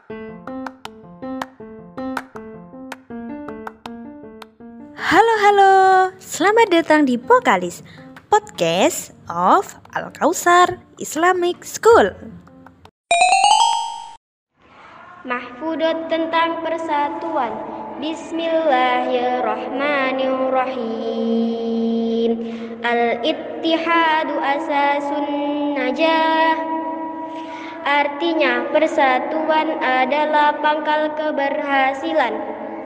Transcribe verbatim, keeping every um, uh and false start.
Halo halo, selamat datang di Pokalis, Podcast of Al-Kausar Islamic School. Mahfudot tentang persatuan. Bismillahirrahmanirrahim. Al-ittihadu asasun najah. Artinya persatuan adalah pangkal keberhasilan.